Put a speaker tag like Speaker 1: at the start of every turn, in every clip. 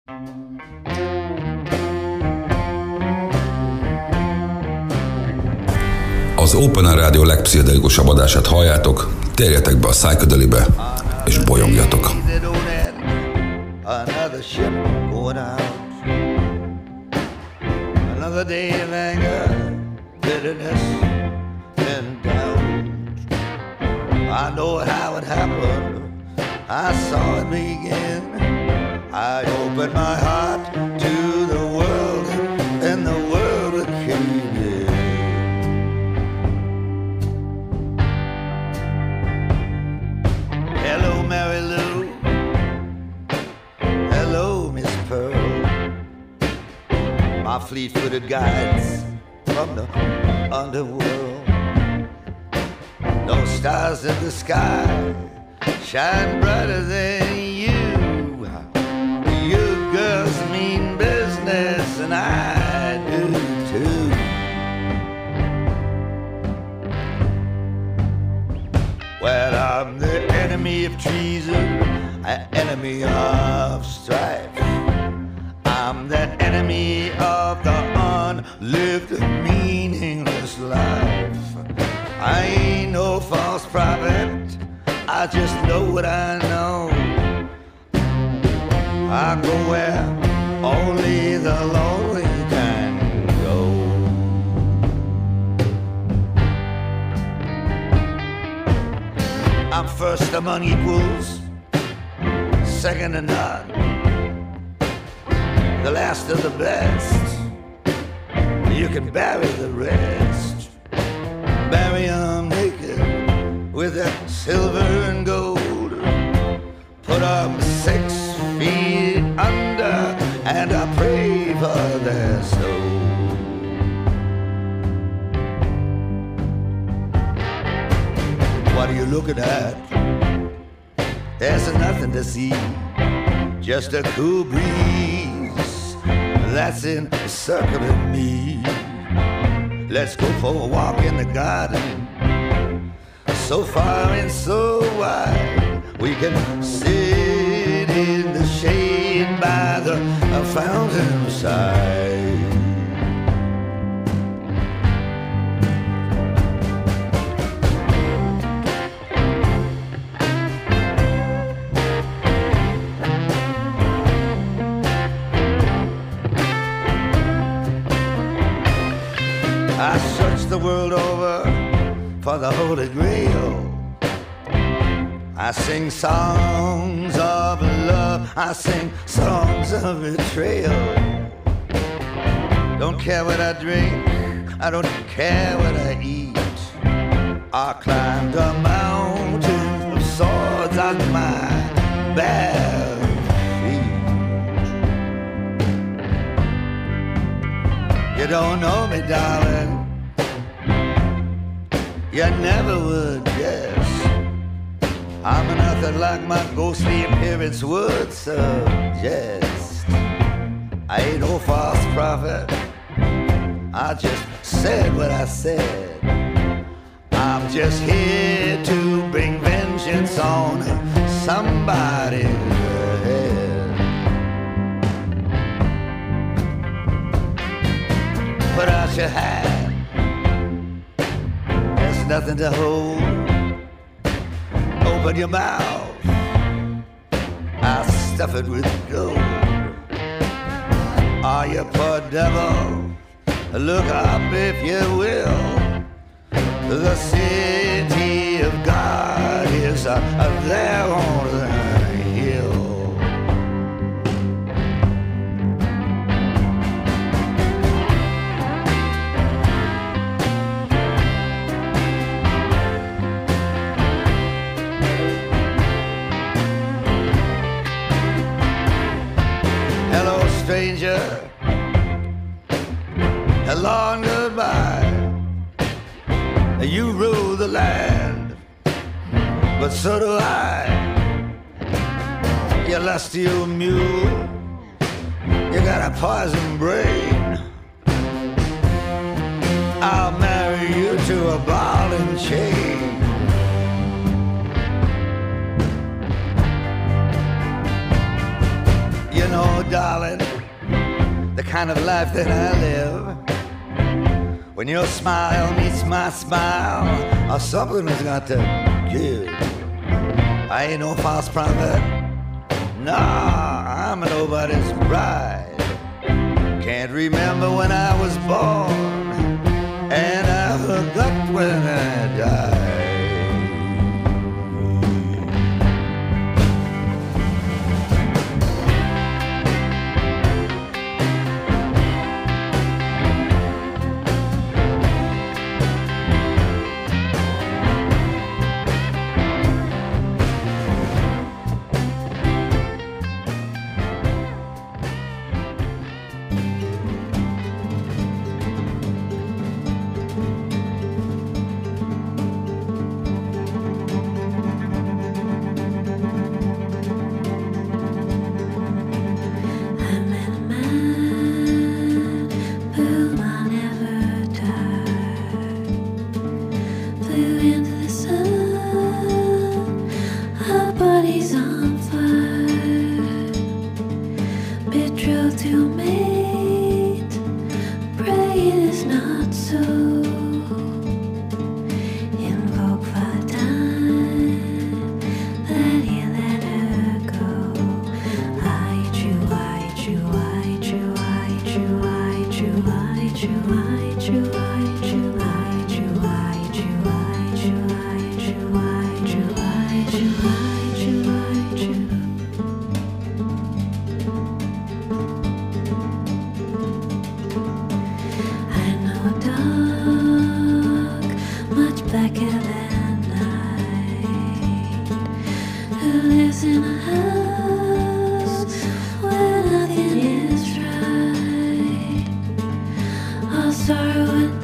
Speaker 1: Az Open Air Rádió legpszichedelikusabb adását halljátok, térjetek be a Psychedelibe, és bolyongjatok!
Speaker 2: Another ship going out, another day of anger, bitterness and doubt. I know how it happened, I saw it begin. I opened my heart to the world, and the world came in. Hello, Mary Lou. Hello, Miss Pearl. My fleet-footed guides from the underworld. No stars in the sky shine brighter than you. You girls mean business, and I do too. Well, I'm the enemy of treason, an enemy of strife. I'm the enemy of the unlived, meaningless life. I ain't no false prophet, I just know what I know. I go where only the lonely can go. I'm first among equals, second to none, the last of the best. You can bury the rest, bury 'em naked with that silver and gold. Put 'em 6 feet under, and I pray for their soul. What are you looking at? There's nothing to see, just a cool breeze that's encircling me. Let's go for a walk in the garden, so far and so wide. We can sit in the shade by the fountain side. I searched the world over for the Holy Grail. I sing songs of love, I sing songs of betrayal. Don't care what I drink, I don't care what I eat. I climbed a mountain of swords on my bare feet. You don't know me, darling, you never would guess. I'm nothing like my ghostly appearance would suggest. I ain't no false prophet, I just said what I said. I'm just here to bring vengeance on somebody's head. Put out your hand, there's nothing to hold. Open your mouth, I'll stuff it with gold. Oh, you poor devil, look up if you will. The city of God is there on the hill. Stranger, hello and goodbye. You rule the land, but so do I. You lusty old mule, you got a poison brain. I'll marry you to a ball and chain. You know, darling, the kind of life that I live, when your smile meets my smile, something has got to give. I ain't no false prophet. Nah, I'm nobody's bride. Can't remember when I was born, and I forgot when I died.
Speaker 3: Sorrow and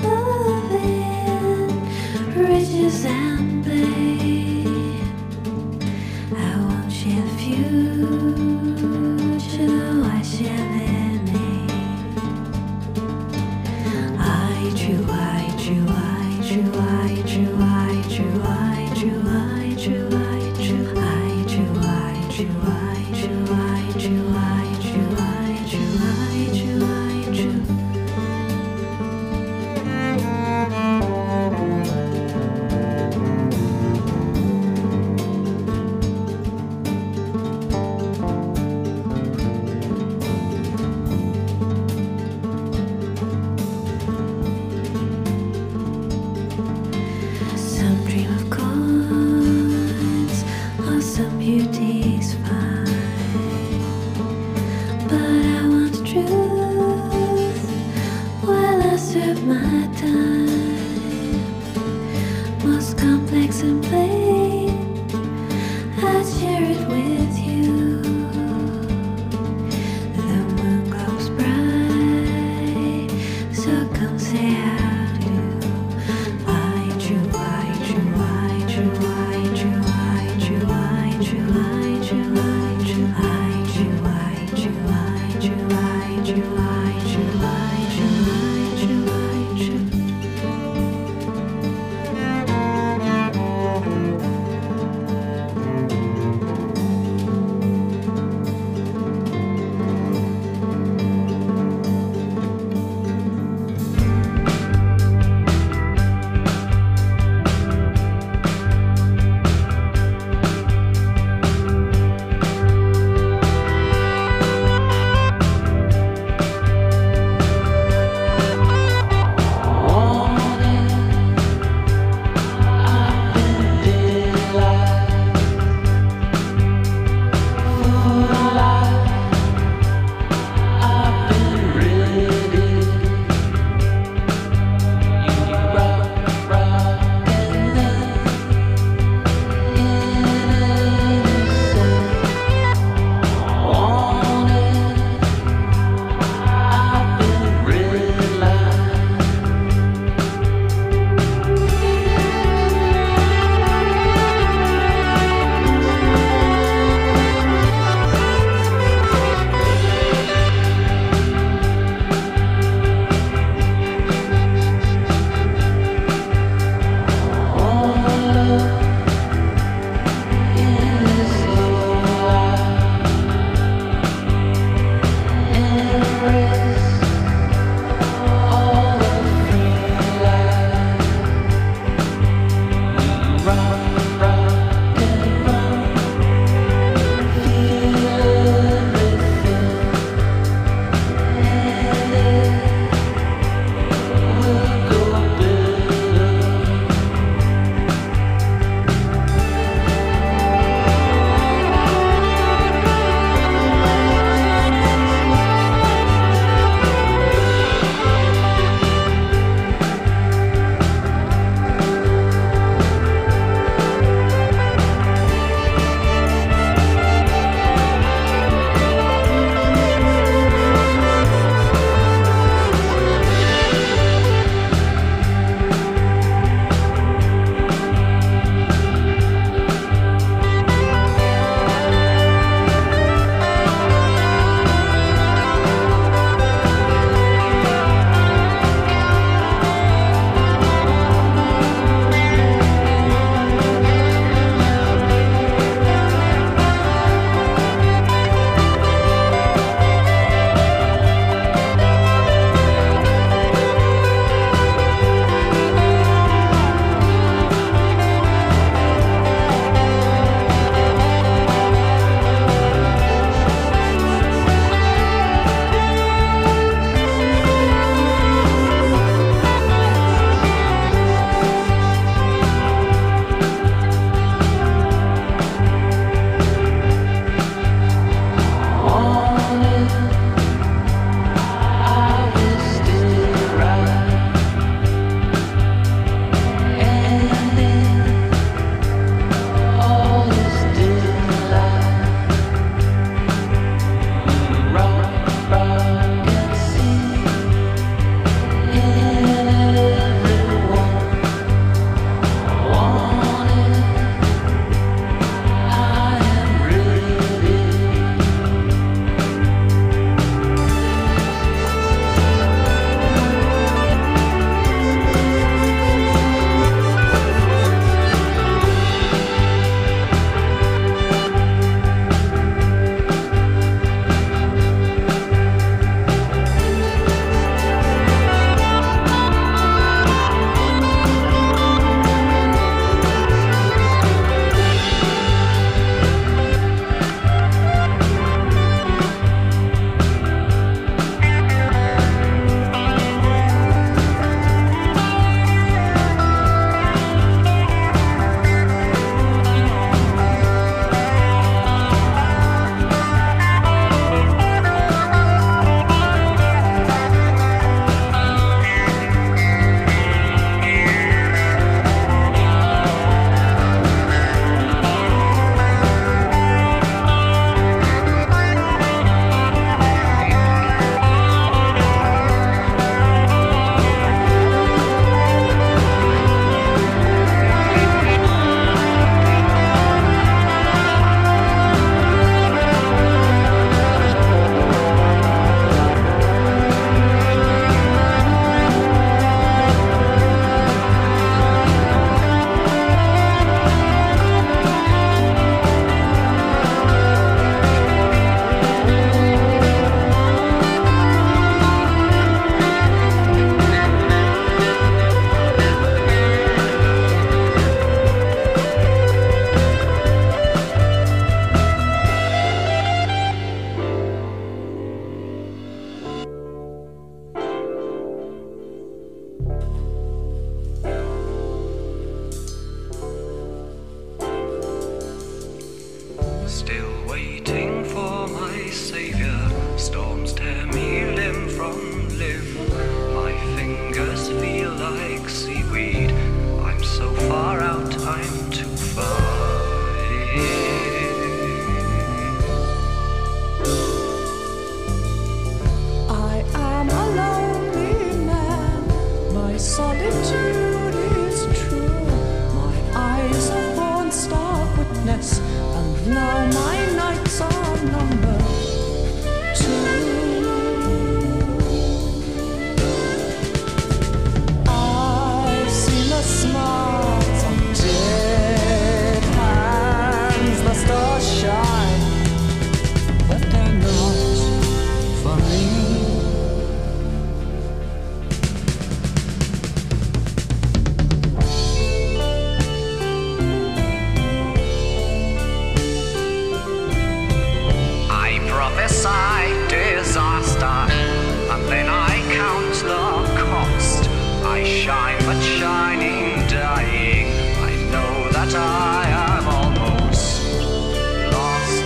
Speaker 3: sight disaster, and then I count the cost. I shine but shining, dying. I know that I am almost lost.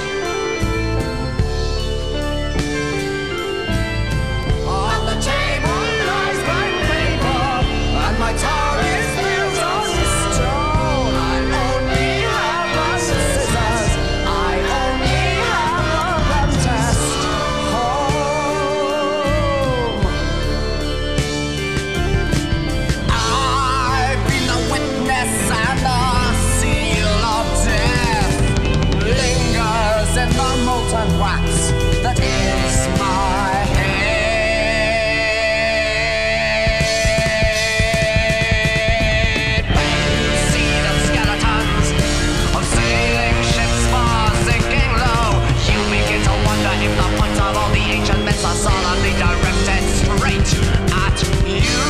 Speaker 3: On the table lies my paper, and my tower is built on stone. I only have my scissors, I only have a gun test home. I've been the witness, and the seal of death lingers in the molten wax that is my head. When you see the skeletons of sailing ships far sinking low, you begin to wonder if the points of all the ancient myths are solemnly directed straight at you.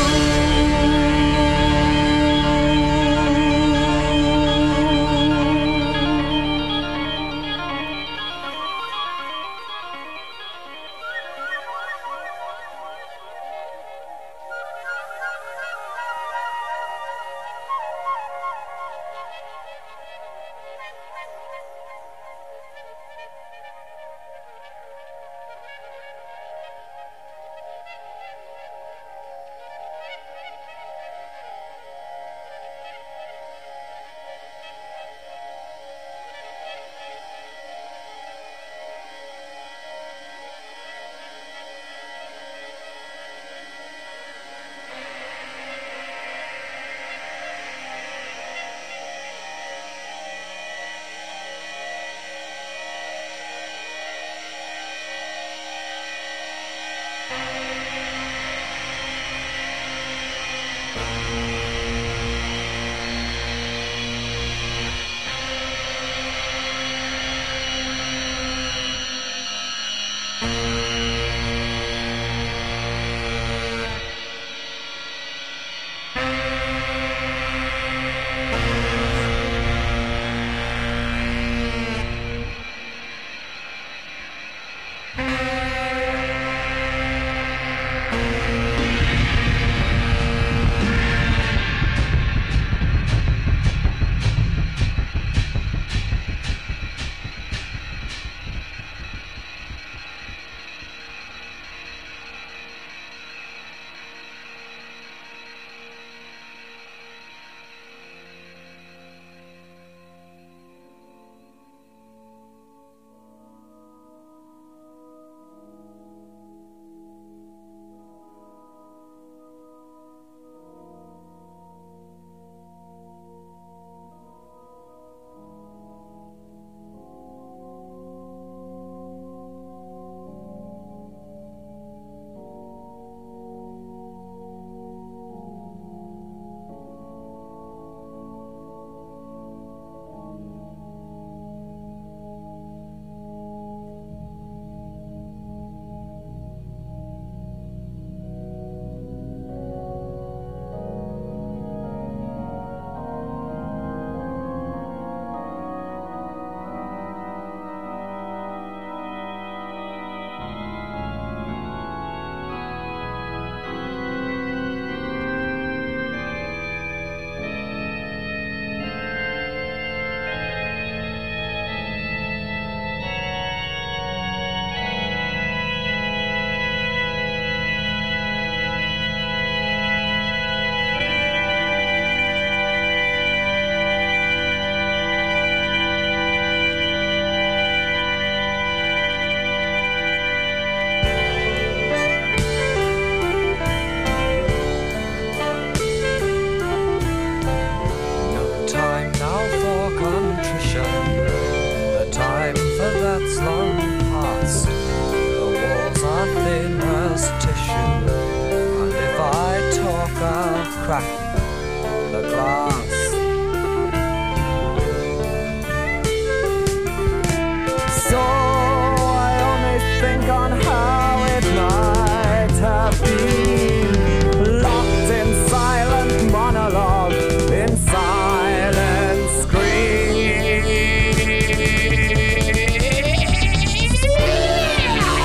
Speaker 4: crack the glass. So I only think on how it might have been, locked in silent monologue, in silent scream.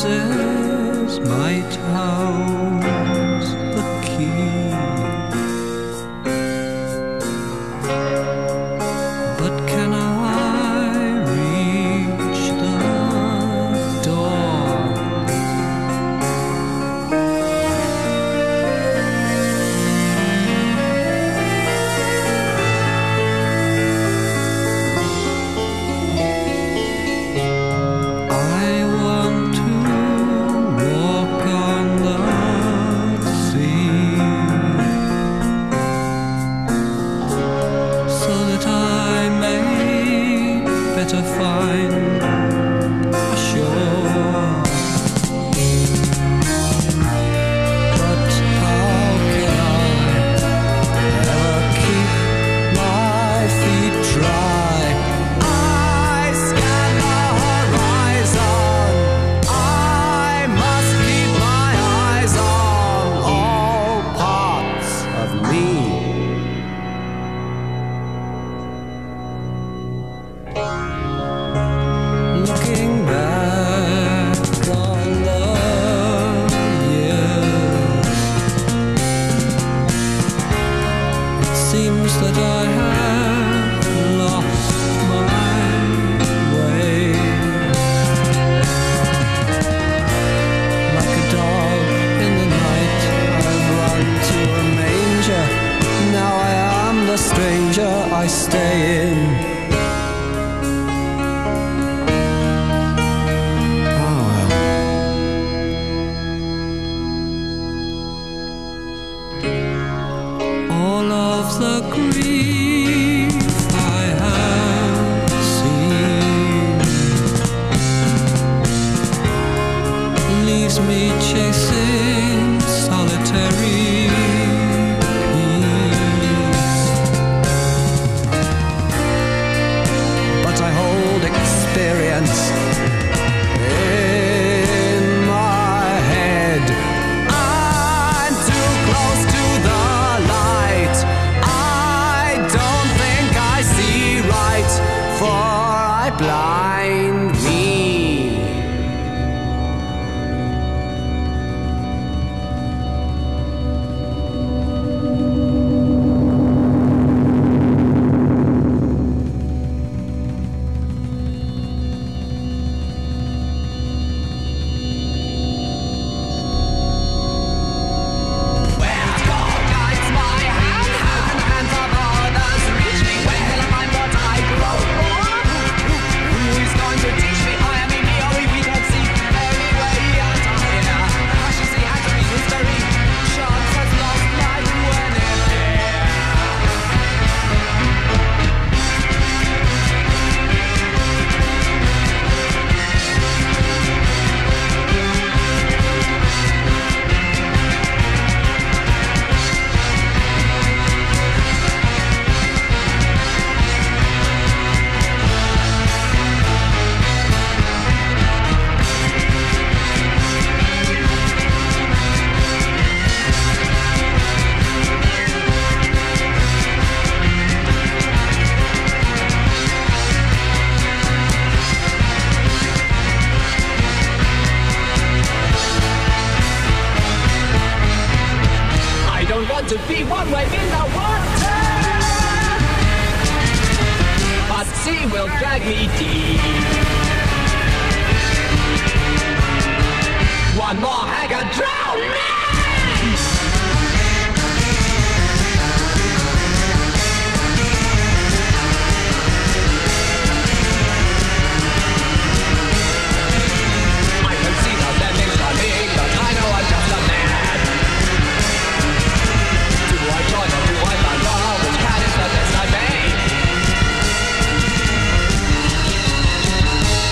Speaker 5: says might house the key, but can I reach the door? I want to walk on the sea, so that I may better find a shore. But how can I ever keep my feet dry? I scan the horizon. I must keep my eyes on all parts of me. Looking back on the years, it seems that I have lost my way. Like a dog in the night, I've run to a manger. Now I am the stranger I stay in. Oh well. All of the grief I have seen leaves me chasing solitary peace. But I hold experience in my head. I'm too close to the light. I don't think I see right, for I blind me. Where to guides my hand? How can the hands of others reach me? Where can I find what I grow for? Who is going to teach me? I am in theory, we can see any way out of here. I should see actually history. Chance has lost light when it's here. I don't want to be one way in the water, but sea will drag me deep. One more hag and drown me! I can see the landings coming, but I know I'm just a man. Do I join or do I follow? Which cat is the best I made?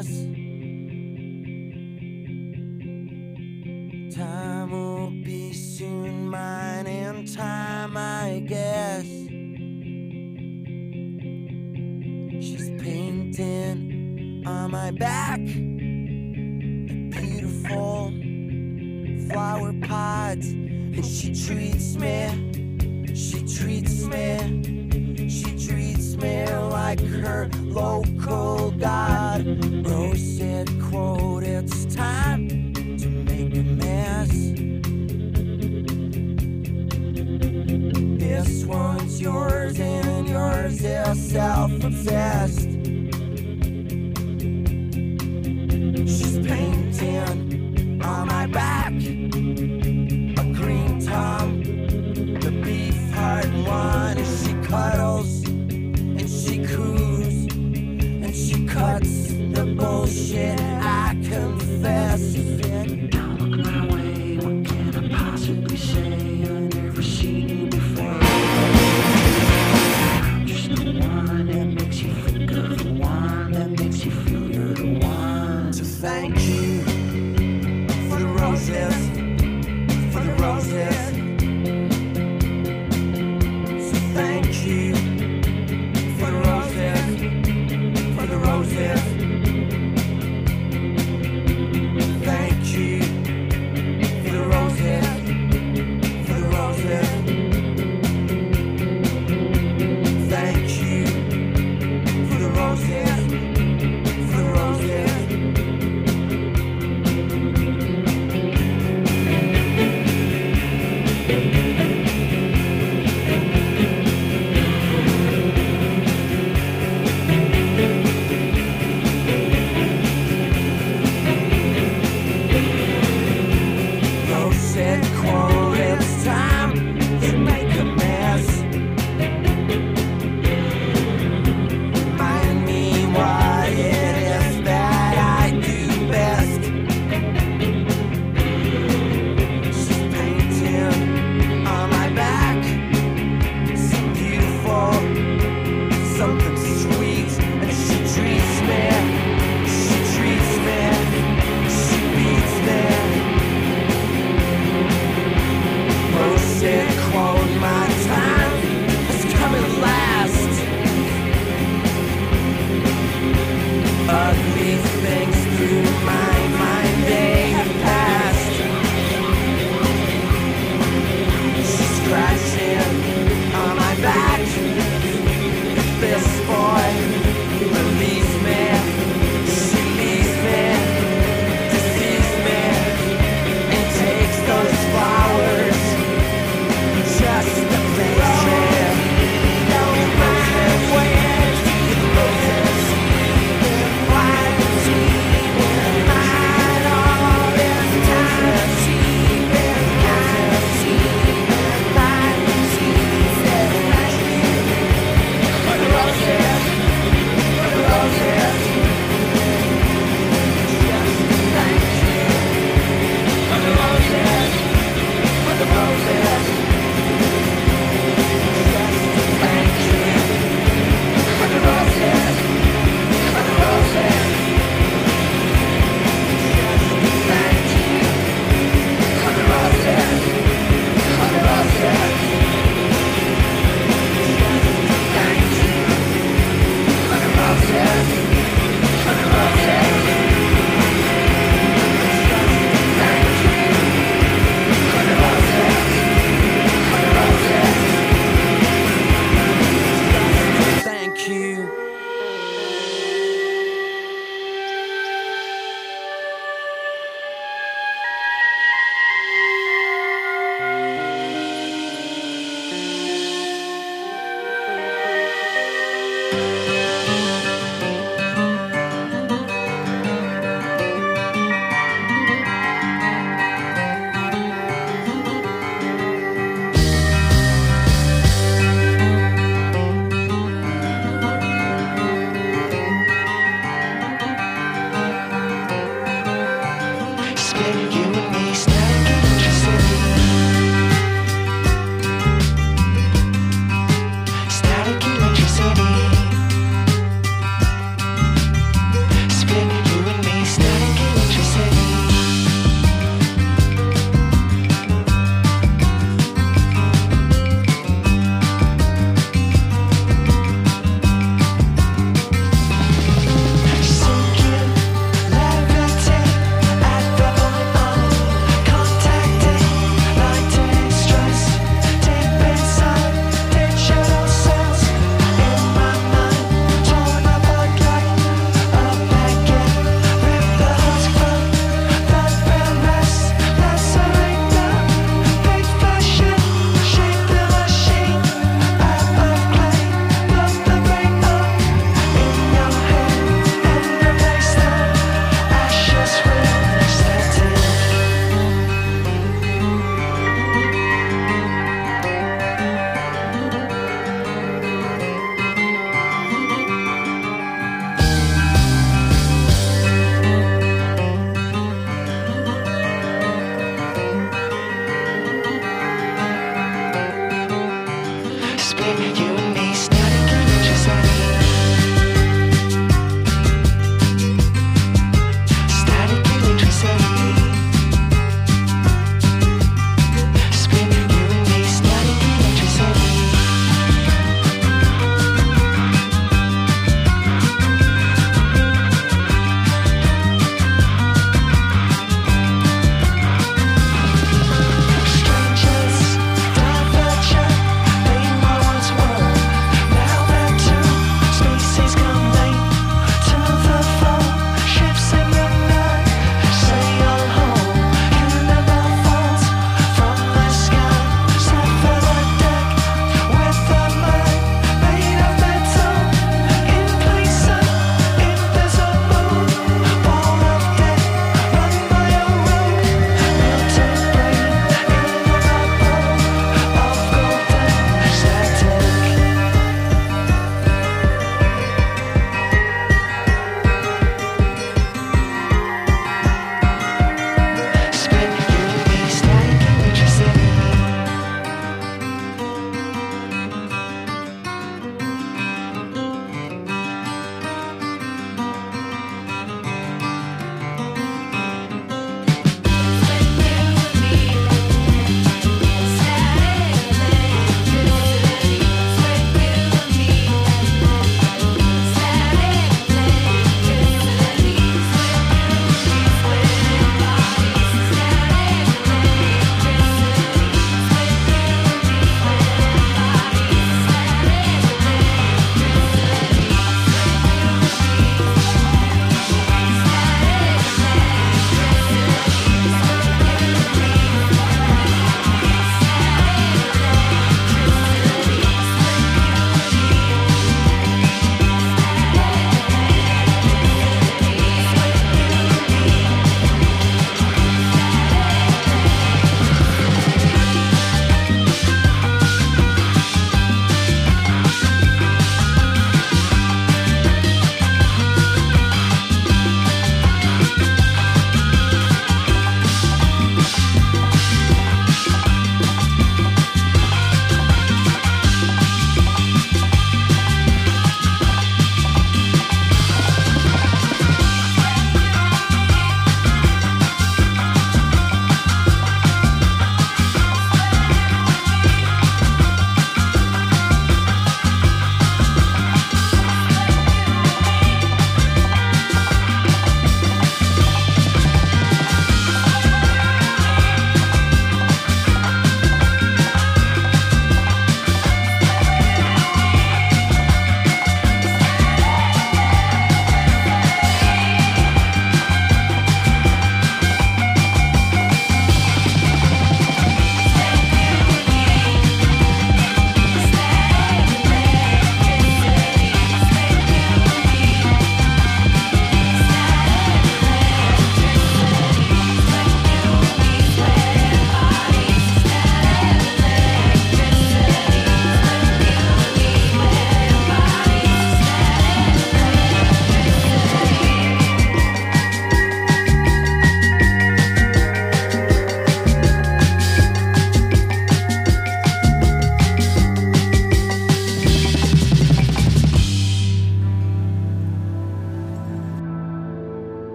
Speaker 4: mess. Time will be soon mine in time, I guess. She's painting on my back beautiful flower pods, and she treats me like her local god. Rose said, quote, it's time to make a mess. This one's yours and yours is self-obsessed. She's painting on my back a green tongue, the beef heart one, and she cuddles and she coos and she cuts the bullshit, I confess. Don't look my way, what can I possibly say? I've never seen you before. I'm just the one that makes you think of the one that makes you feel you're the one. So thank you for the roses, for the roses. So thank you for the roses, for the roses. Thank you for the roses, for the roses. Thank you for the roses, for the roses.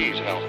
Speaker 6: Please help.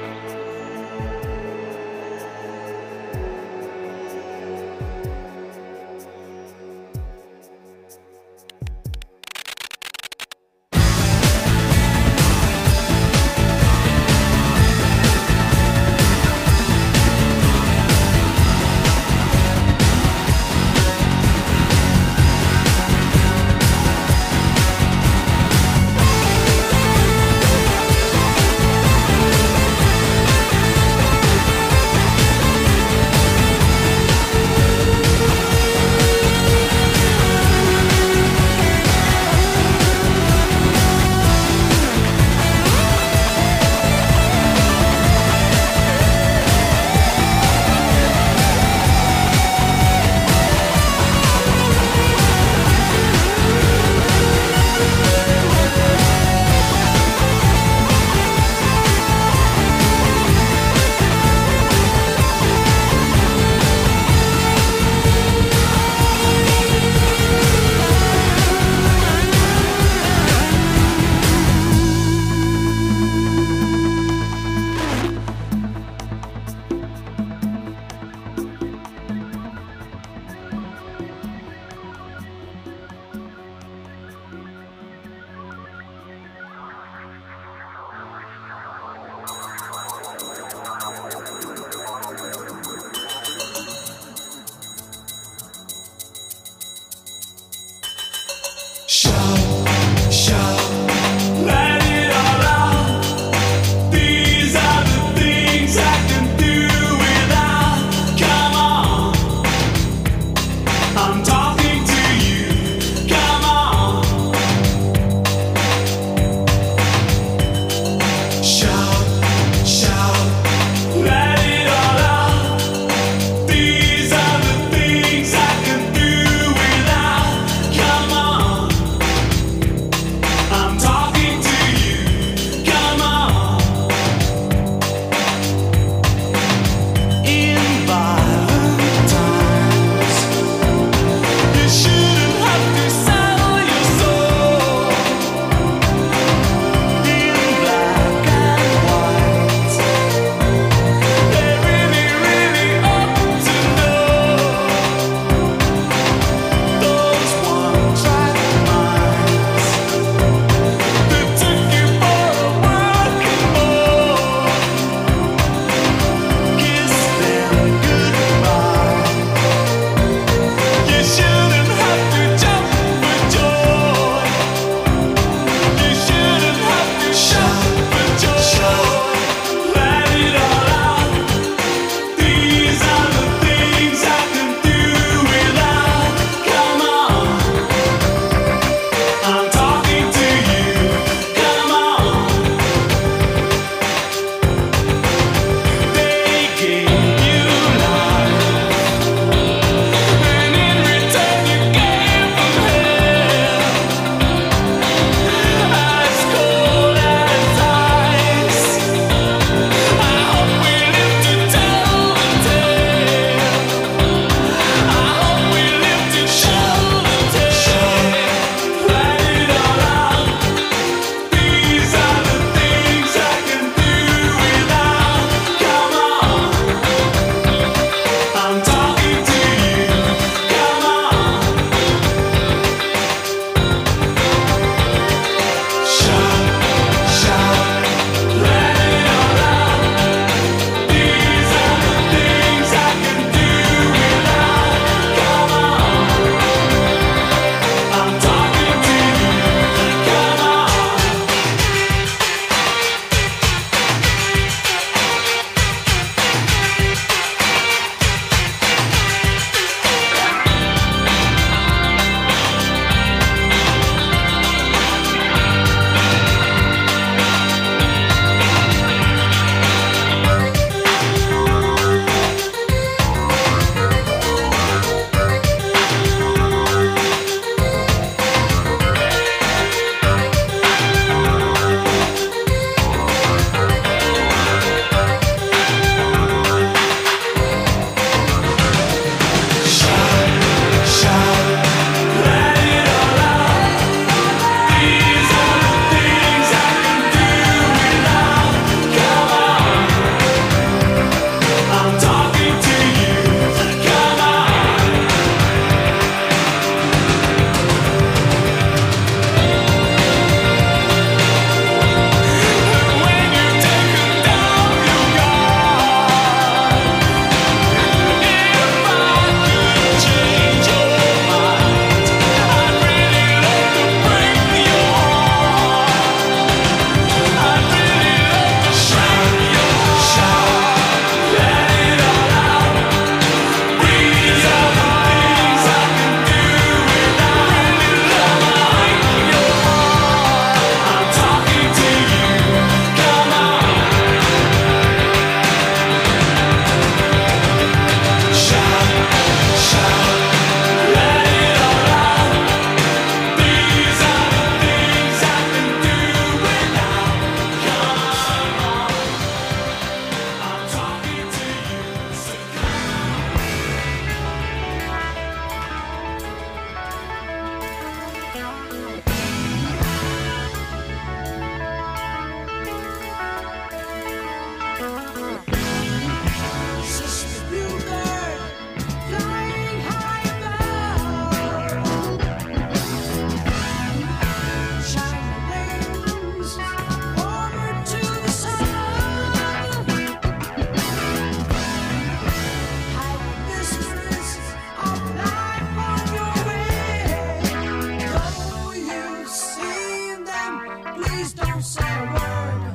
Speaker 4: please don't say a word.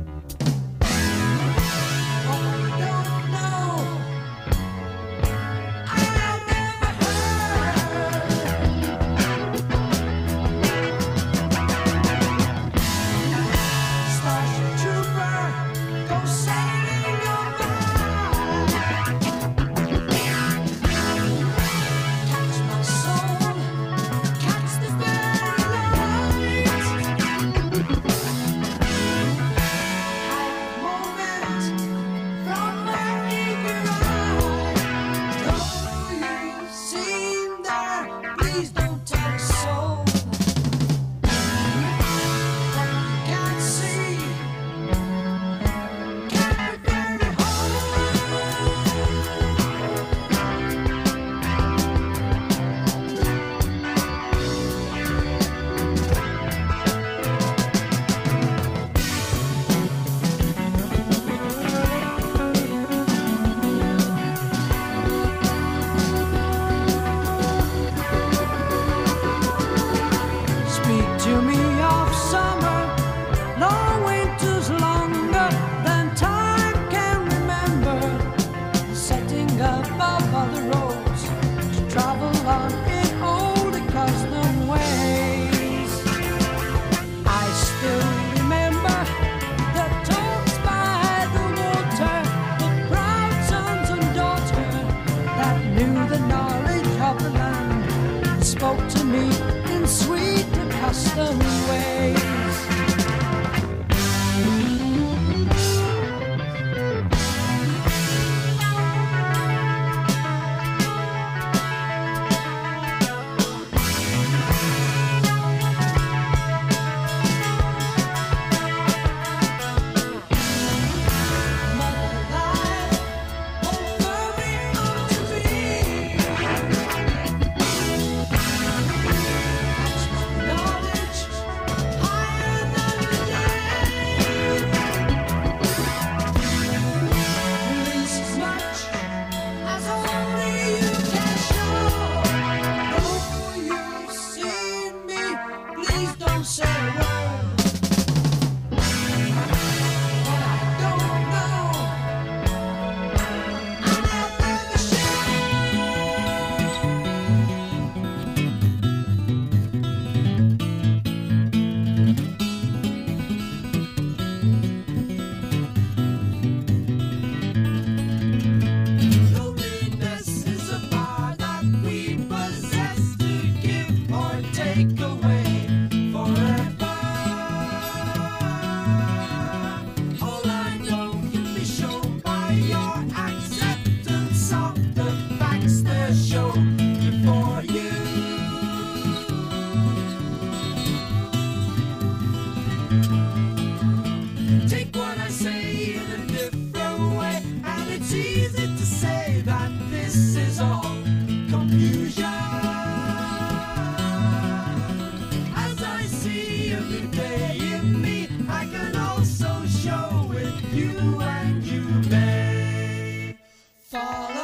Speaker 4: Oh, you don't know. I've never heard. Starship Trooper, go sailing your mind. Catch my soul, catch the very light. Moment from my eager eye. Though you seem there, please don't tell a soul. What you can't see can't be very hard. Speak to me of summer, long winters longer than time can remember. Setting above other roads to travel on in old accustomed ways. I still remember the talks by the water, the proud sons and daughters that knew the knowledge of the land and spoke to me in sweet accustomed ways. Mother life, hold firmly onto me. Knowledge higher than the day. Release as much as only you can show. Though you've seen me, please don't say a word. What I don't know, I'll never Loneliness is a power that we possess to give or take away forever. All I know can be shown by your acceptance of the facts they're shown before you. Take what I say in a different way, and it's easy to say that this is all confusion. As I see every day in me, I can also show it you, and you may follow.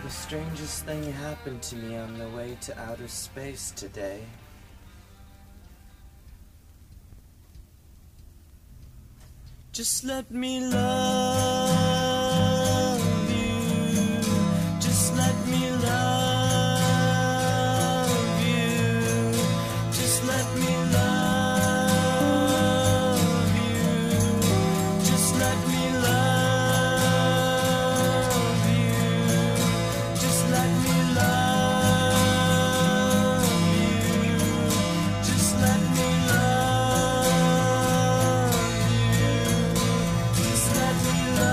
Speaker 6: The strangest thing happened to me on the way to outer space today. Just let me love you. Just let me love you. Just let me love you. Just let me love you. Just let me love you. Just let me love you. Just let me love you.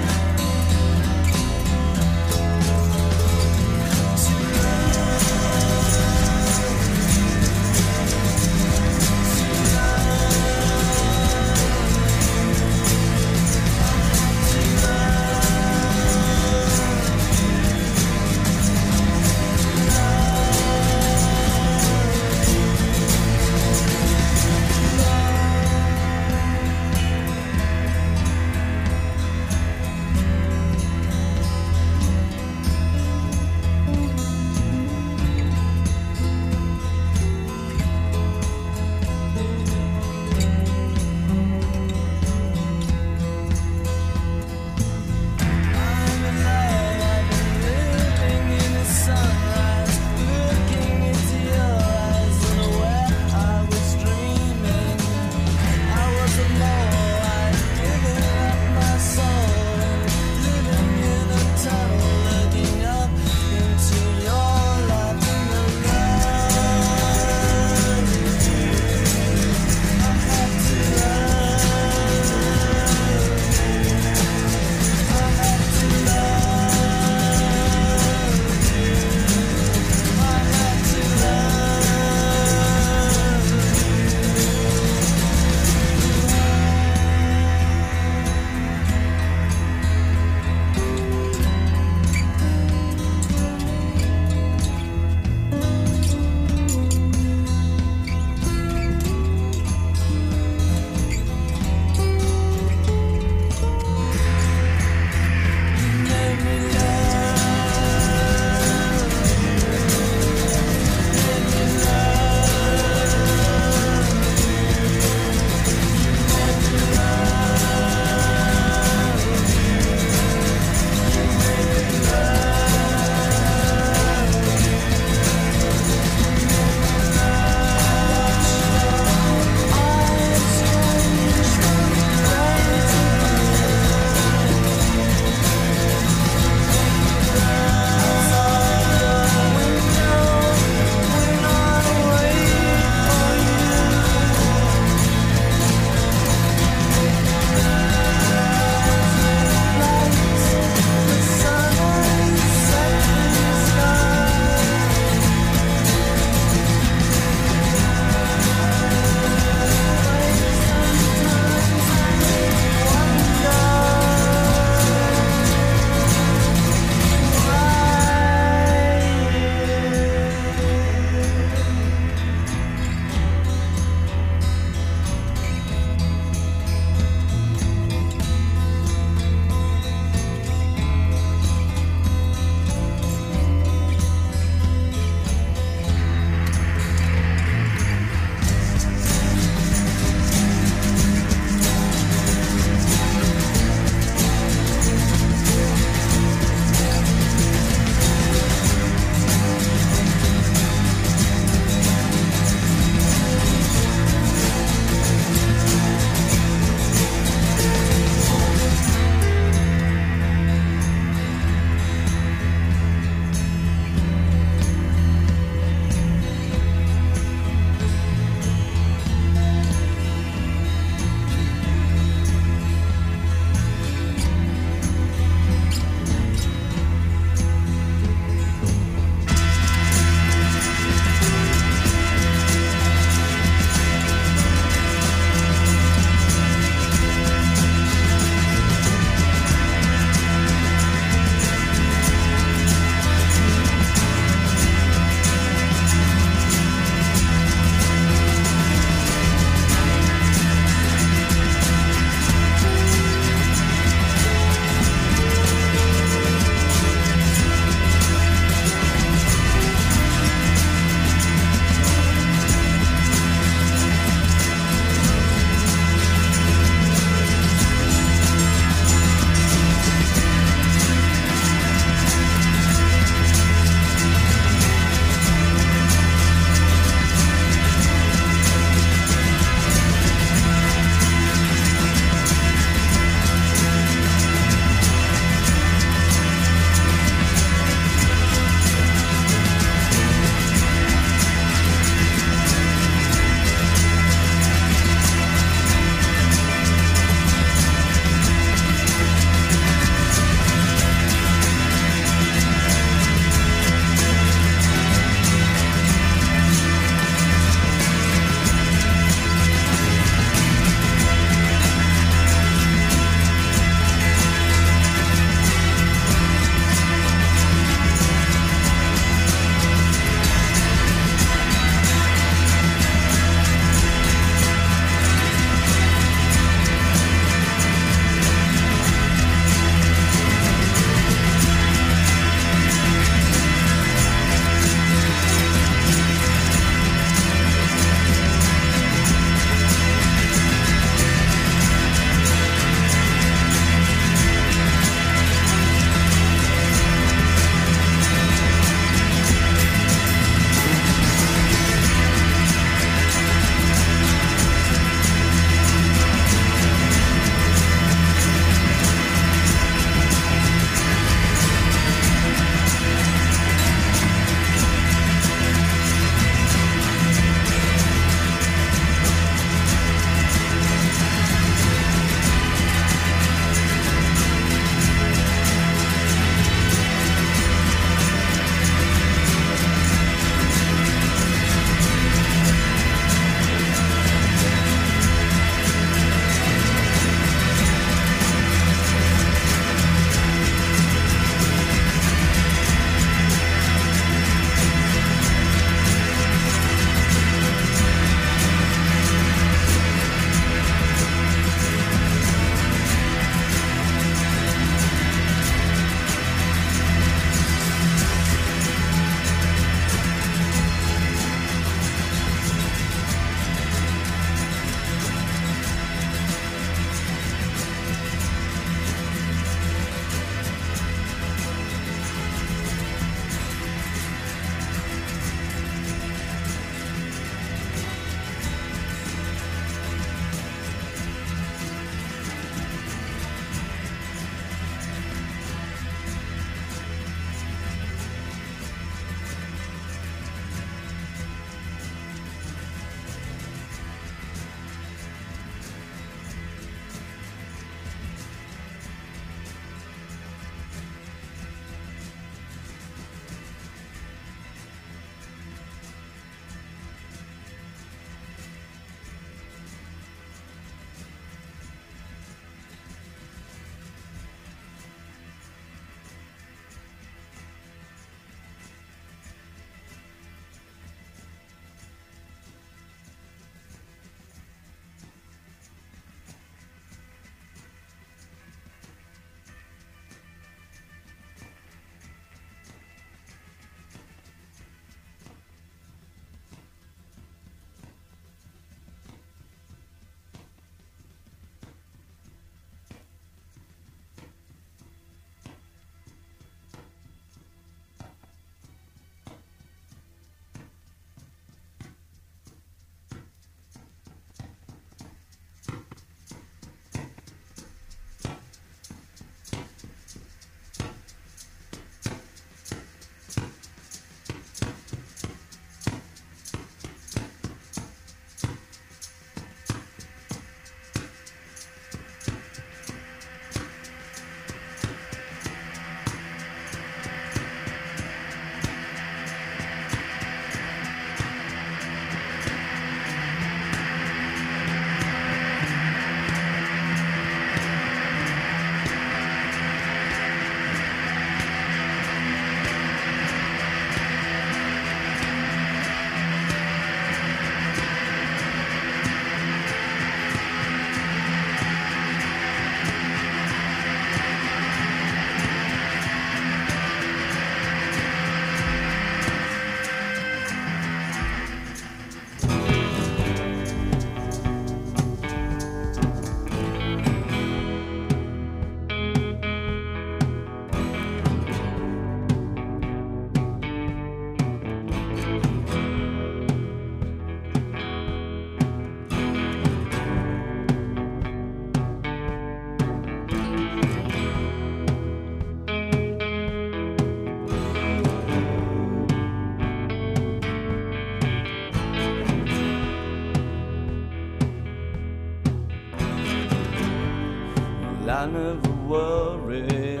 Speaker 7: I never worry.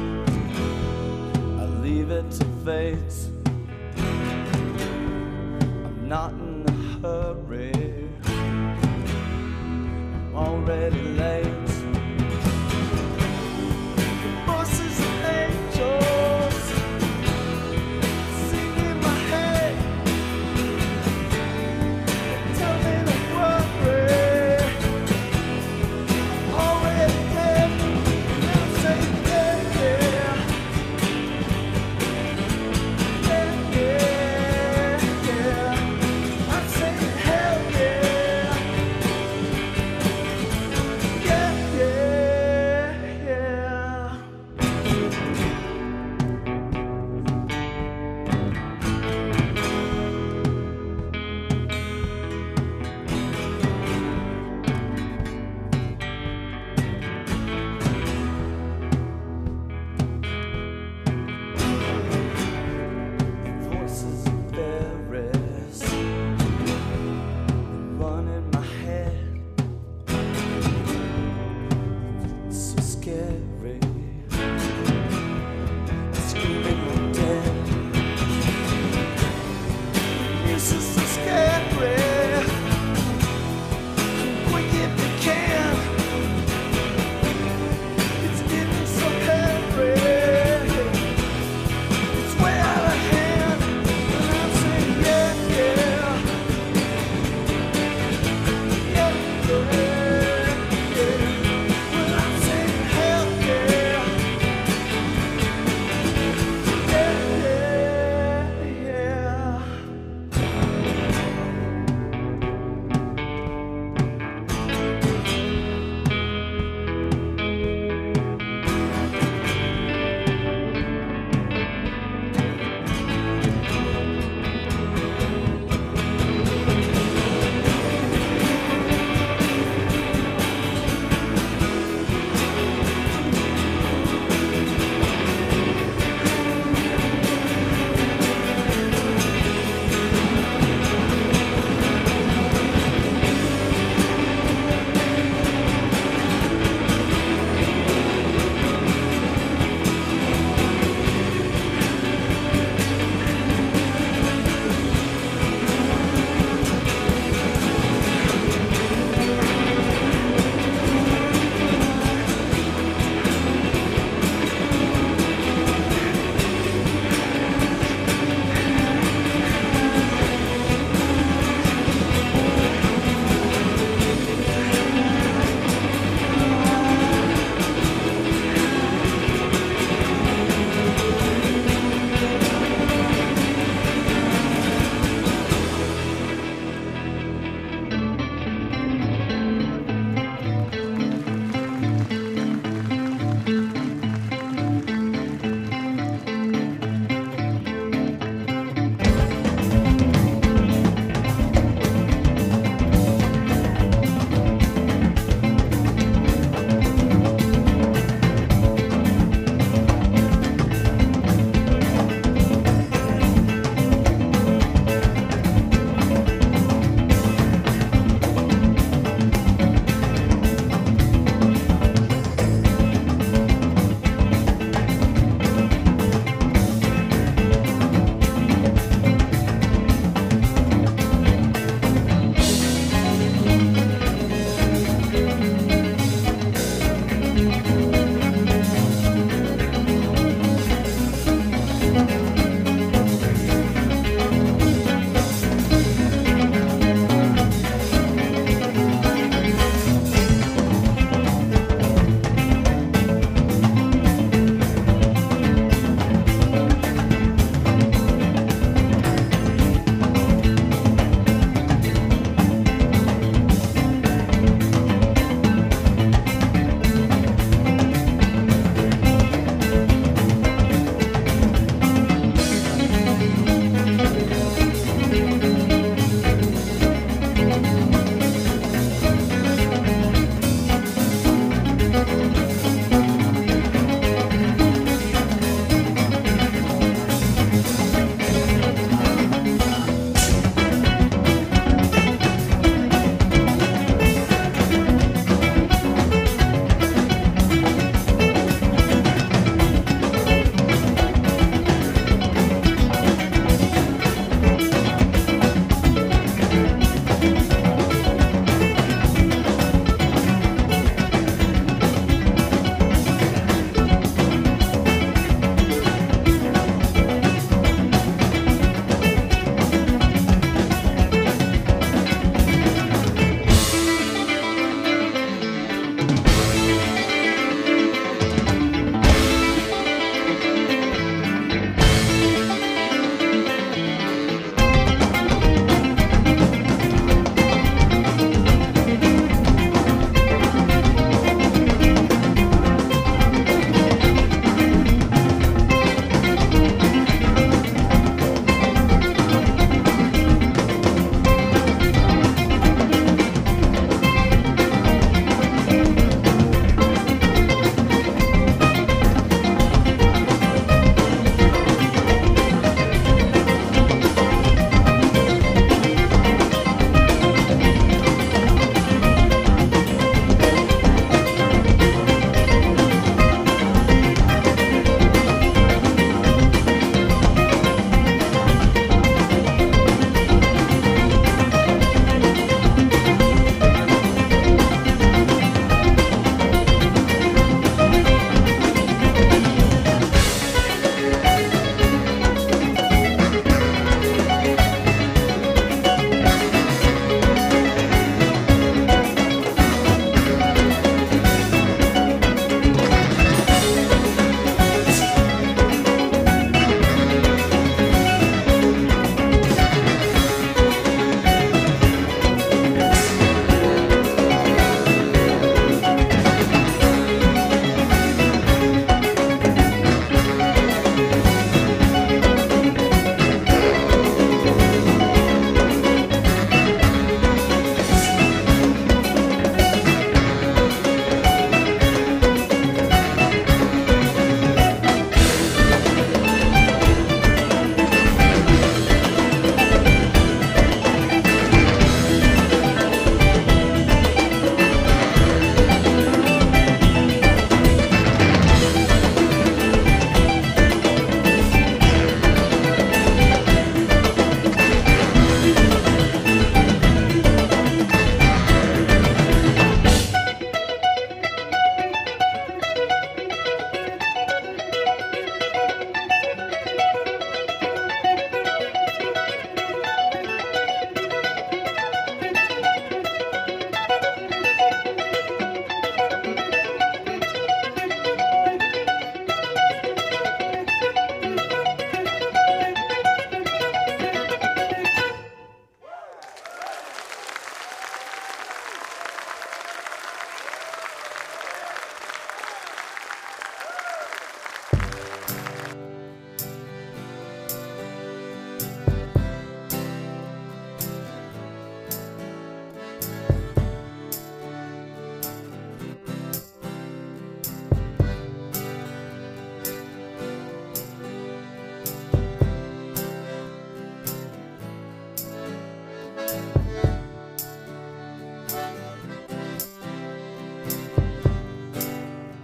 Speaker 7: I leave it to fate. I'm not in a hurry. I'm already late. Voices of angels sing in my head. Tell me to worry. Already dead. Now say yeah, yeah. Yeah, yeah, yeah. I'm saying hell yeah.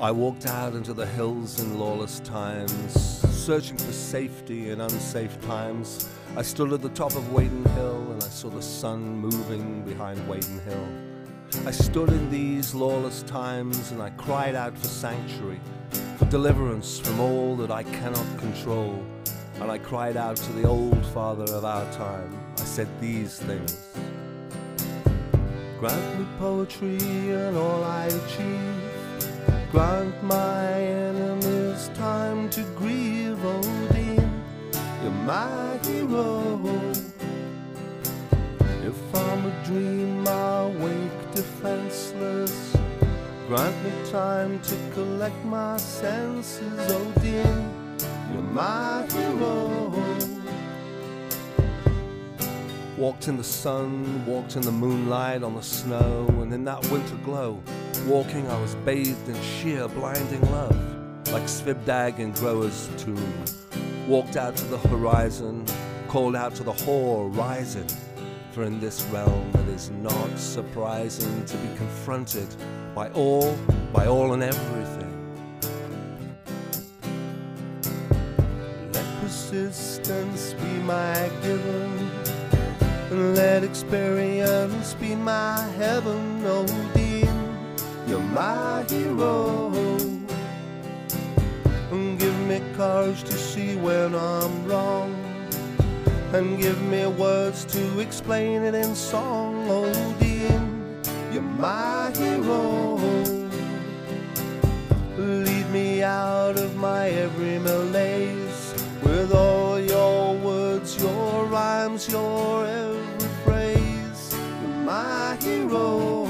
Speaker 8: I walked out into the hills in lawless times, searching for safety in unsafe times. I stood at the top of Wading Hill and I saw the sun moving behind Wading Hill. I stood in these lawless times and I cried out for sanctuary, for deliverance from all that I cannot control. And I cried out to the old father of our time. I said these things. Grant me poetry and all I achieve. Grant my enemies time to grieve, Odin. You're my hero. If I'm a dream, I'll wake defenseless. Grant me time to collect my senses, Odin. You're my hero. Walked in the sun, walked in the moonlight, on the snow, and in that winter glow. Walking, I was bathed in sheer blinding love, like Svipdag in Groa's tomb. Walked out to the horizon, called out to the whore rising. For in this realm it is not surprising to be confronted by all and everything. Let persistence be my given, and let experience be my heaven, Odin. You're my hero. And give me courage to see when I'm wrong, and give me words to explain it in song, Odin. You're my hero. Lead me out of my every malaise with all your words, your rhymes, your every phrase. You're my hero.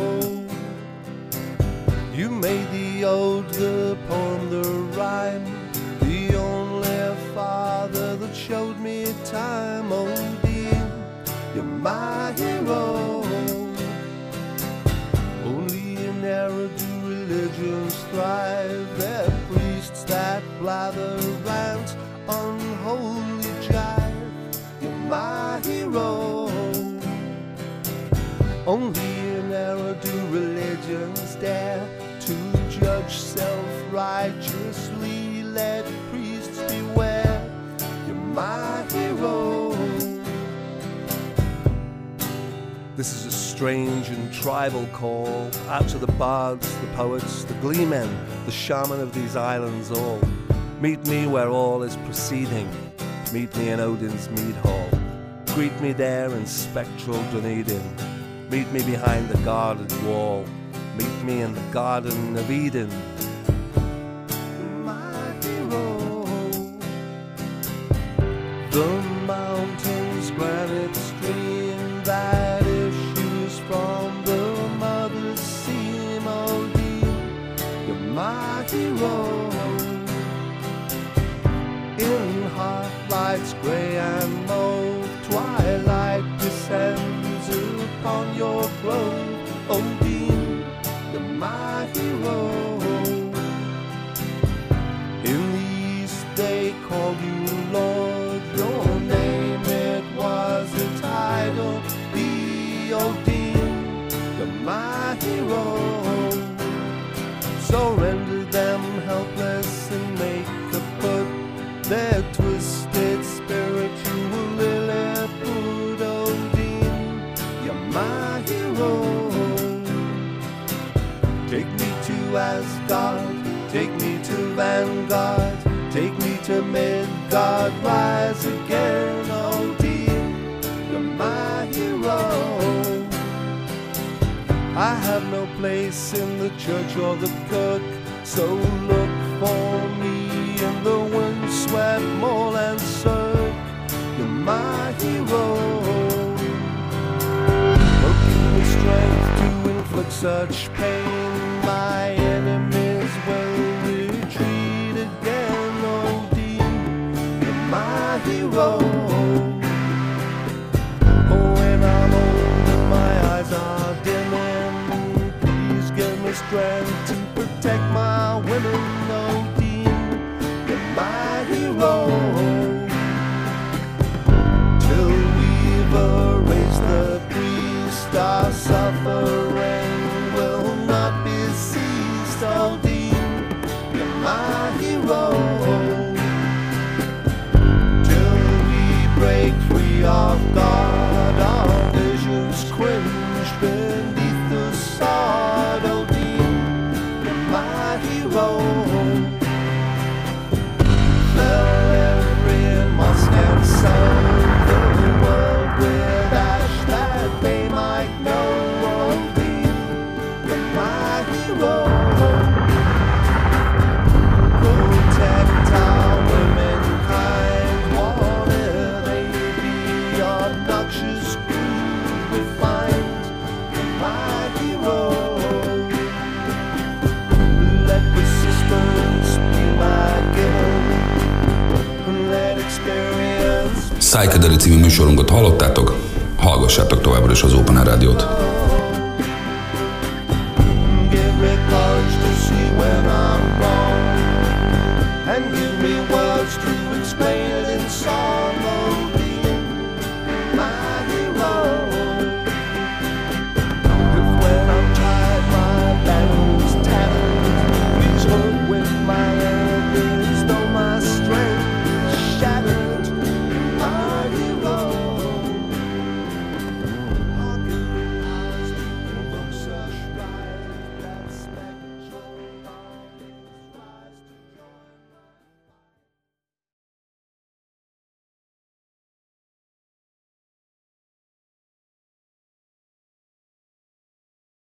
Speaker 8: You made the ode, the poem, the rhyme, the only father that showed me time, Odin. You're my hero. Only in error do religions thrive. They're priests that blather rant, unholy jive. You're my hero. Only in error do religions dare to judge self-righteously. Let priests beware. You're my hero. This is a strange and tribal call out to the bards, the poets, the gleemen, the shaman of these islands all. Meet me where all is proceeding. Meet me in Odin's mead hall. Greet me there in spectral Dunedin. Meet me behind the guarded wall. Meet me in the Garden of Eden. My hero. The mountain's granite stream that issues from the mother's seam, Odin. You're my hero. In half-lights grey and mauve, twilight descends upon your grove, Odin. You're my hero. In the east they called you Lord. Your name it was a title, the Odin. You're my hero. So render them helpless and make a put their twisted spiritual Lilliput, Odin. You're my hero. Take me to Asgard, take me to Vanguard, take me to Midgard, rise again, Odin. You're my hero. I have no place in the church or the kirk, so look for me in the windswept moorland cirque. You're my hero. Working with strength to inflict such pain, my enemies will retreat again, Odin. You're my hero. Oh, when I'm old and my eyes are dimming, please give me strength to protect my women, Odin. You're my hero. Till we've erased the priest, our suffering will not be ceased, Odin.
Speaker 7: my hero. Till we break free of God, our visions quench beneath the sod. Odin, you're my hero. Fell every must and soul, the world with ash that they might know. Odin, you're my hero. Protect our womankind, whatever they be, obnoxious, crude, refined. You're my hero. Let persistence be my given. Let experience.
Speaker 1: Psychedelic című műsorunkat hallottátok, hallgassátok továbbra is az Open Air Rádiót.